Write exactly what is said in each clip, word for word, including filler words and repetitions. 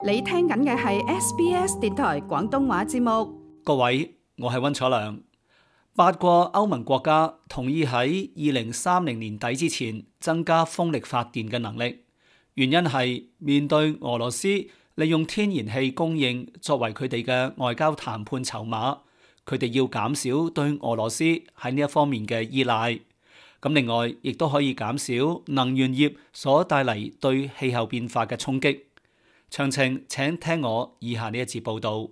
你聽緊嘅係 S B S 電台廣東話節目。 各位，我係溫楚良。八個歐盟國家同意喺二零三零年底之前增加風力發電嘅能力，原因係面對俄羅斯利用天然氣供應作為佢哋嘅外交談判籌碼，佢哋要減少對俄羅斯喺呢一方面嘅依賴。咁另外，亦都可以減少能源業所帶嚟對氣候變化嘅衝擊。詳情請聽我以下呢一節報導。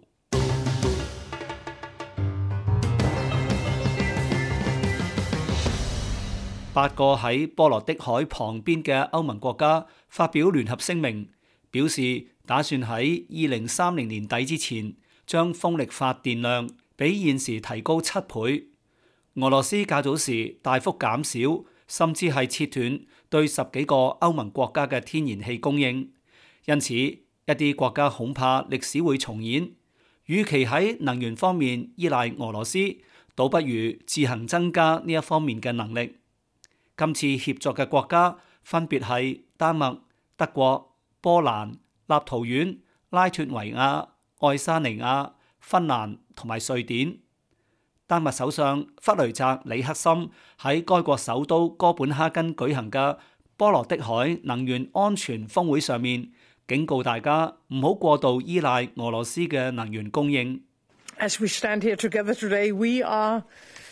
八個喺波羅的海旁邊嘅歐盟國家發表聯合聲明，表示打算喺二零三零年底之前將風力發電量比現時提高七倍。俄羅斯較早時大幅減少，甚至係切斷對十幾個歐盟國家嘅天然氣供應，因此一啲國家恐怕歷史會重演。與其喺能源方面依賴俄羅斯，倒不如自行增加呢一方面嘅能力。今次協作嘅國家分別係丹麥、德國、波蘭、立陶宛、拉脫維亞、愛沙尼亞、芬蘭同埋瑞典。丹麥首相弗雷澤里克森喺該國首都哥本哈根舉行嘅波羅的海能源安全峰會上面，警告大家唔好過度依賴俄羅斯嘅能源供應。 As we stand here together today, we are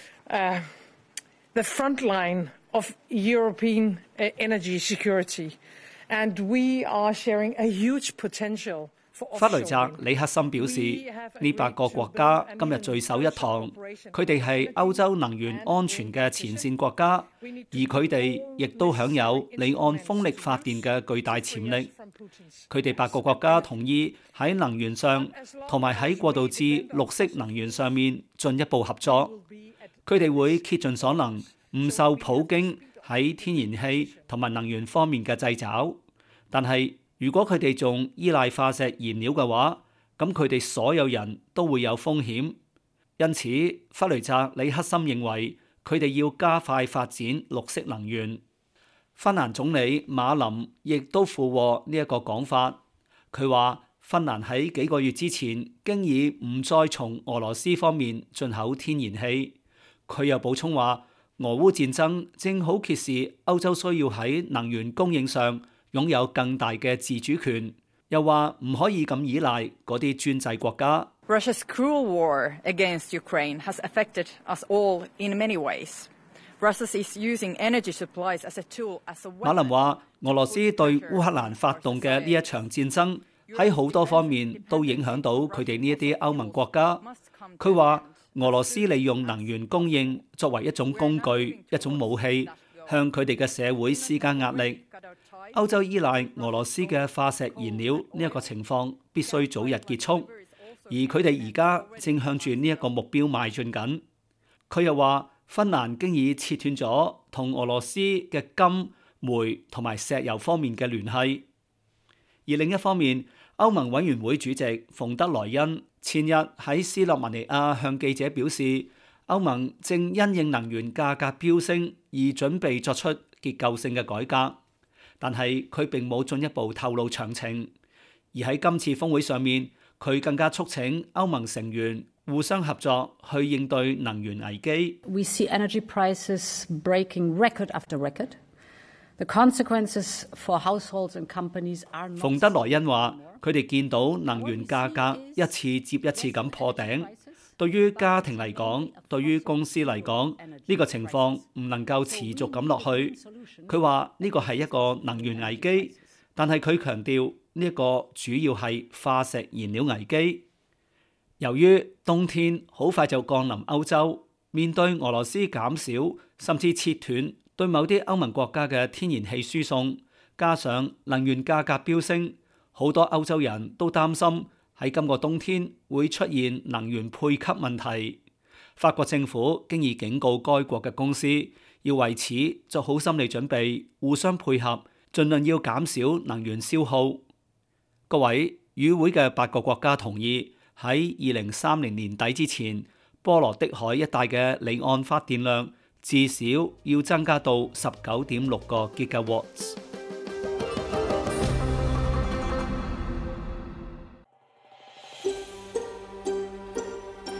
uh, the front line of European energy security, and we are sharing a huge potential. 弗雷澤里克森表示，呢八個國家今日聚首一堂，佢哋係歐洲能源安全嘅前線國家，而佢哋亦都享有離岸風力發電嘅巨大潛力。佢哋八個國家同意喺能源上同埋喺過渡至綠色能源上面進一步合作。佢哋會竭盡所能，唔受普京喺天然氣同埋能源方面嘅掣肘，但係如果佢哋仲依賴化石燃料嘅話，咁佢哋所有人都會有風險。因此，弗雷澤里克森認為佢哋要加快發展綠色能源。芬蘭總理馬林亦都附和呢一個講法。佢話芬蘭喺幾個月之前經已唔再從俄羅斯方面進口天然氣。佢又補充話，俄烏戰爭正好揭示歐洲需要喺能源供應上擁有更大嘅自主權，又話唔可以咁依賴嗰啲專制國家。 Russia's cruel war against Ukraine has affected us all in many ways. Russia is using energy supplies as a tool, as a weapon. 馬林話，俄羅斯對烏克蘭發動嘅呢一場戰爭喺好多方面都影響到佢哋呢一啲歐盟國家。佢話俄羅斯利用能源供應作為一種工具、一種武器，向佢哋嘅社會施加壓力。歐洲依賴俄羅斯嘅化石燃料呢一個情況必須早日結束，而佢哋而家正向住呢一個目標邁進緊。佢又話，芬蘭經已切斷咗同俄羅斯嘅金、煤同埋石油方面嘅聯繫。而另一方面，歐盟委員會主席馮德萊恩前日喺斯洛文尼亞向記者表示，歐盟正因應能源價格飆升而準備作出結構性嘅改革。但係佢並冇進一步透露詳情，而喺今次峰會上面，佢更加促請歐盟成員互相合作去應對能源危機。 We see energy prices breaking record after record. The consequences for households and companies are not. 馮德萊恩話：佢哋見到能源價格一次接一次咁破頂。對於家庭嚟講，對於公司嚟講，呢個情況唔能夠持續咁落去。佢話呢個係一個能源危機，但係佢強調呢一個主要係化石燃料危機。由於冬天好快就降臨歐洲，面對俄羅斯減少甚至切斷對某啲歐盟國家嘅天然氣輸送，加上能源價格飆升，好多歐洲人都擔心喺今個冬天會出現能源配給問題。法國政府經已警告該國嘅公司要為此做好心理準備，互相配合，盡量要減少能源消耗。各位，與會嘅八個國家同意喺二零三零年底之前，波羅的海一帶嘅離岸發電量至少要增加到十九點六個 gigawatts。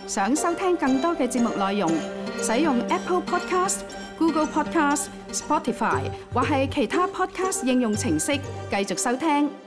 想收聽更多嘅節目內容，使用 Apple Podcast、Google Podcast、Spotify 或係其他 Podcast 應用程式繼續收聽。